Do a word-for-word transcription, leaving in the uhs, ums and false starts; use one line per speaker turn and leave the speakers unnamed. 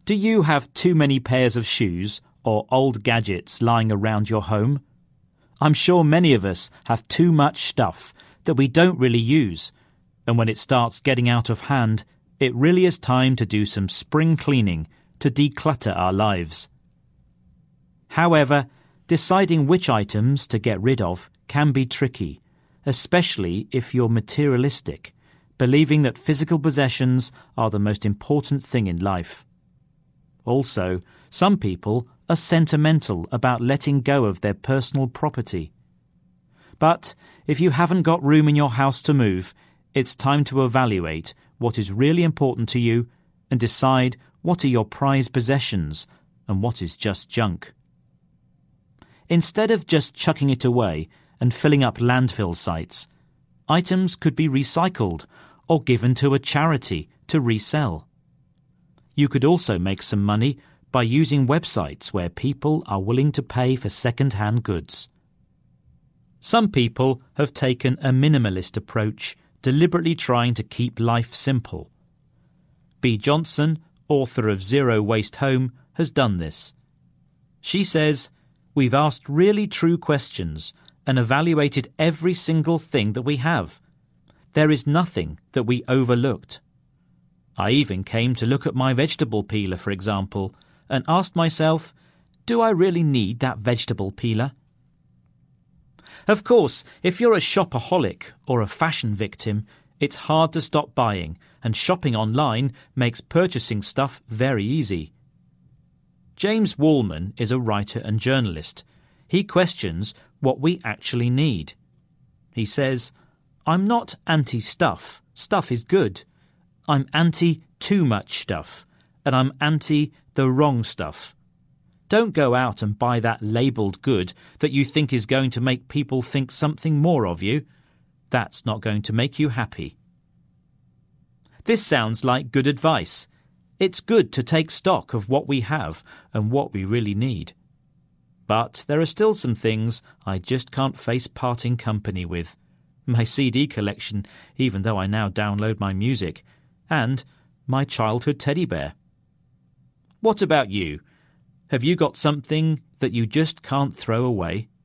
Do you have too many pairs of shoes or old gadgets lying around your home? I'm sure many of us have too much stuff that we don't really use, and when it starts getting out of hand, it really is time to do some spring cleaning to declutter our lives. However, deciding which items to get rid of can be tricky, especially if you're materialistic, believing that physical possessions are the most important thing in life. Also, some people are sentimental about letting go of their personal property. But if you haven't got room in your house to move, it's time to evaluate what is really important to you and decide what are your prized possessions and what is just junk. Instead of just chucking it away and filling up landfill sites, items could be recycled or given to a charity to resell. You could also make some money by using websites where people are willing to pay for second-hand goods. Some people have taken a minimalist approach, deliberately trying to keep life simple. Bea Johnson, author of Zero Waste Home, has done this. She says, "We've asked really true questions and evaluated every single thing that we have. There is nothing that we overlooked. I even came to look at my vegetable peeler, for example, and asked myself, do I really need that vegetable peeler?" Of course, if you're a shopaholic or a fashion victim, it's hard to stop buying, and shopping online makes purchasing stuff very easy. James Wallman is a writer and journalist. He questions what we actually need. He says, "I'm not anti-stuff. Stuff is good. I'm anti-too much stuff, and I'm anti-the wrong stuff. Don't go out and buy that labelled good that you think is going to make people think something more of you. That's not going to make you happy." This sounds like good advice. It's good to take stock of what we have and what we really need. But there are still some things I just can't face parting company with. My C D collection, even though I now download my music, and my childhood teddy bear. What about you? Have you got something that you just can't throw away?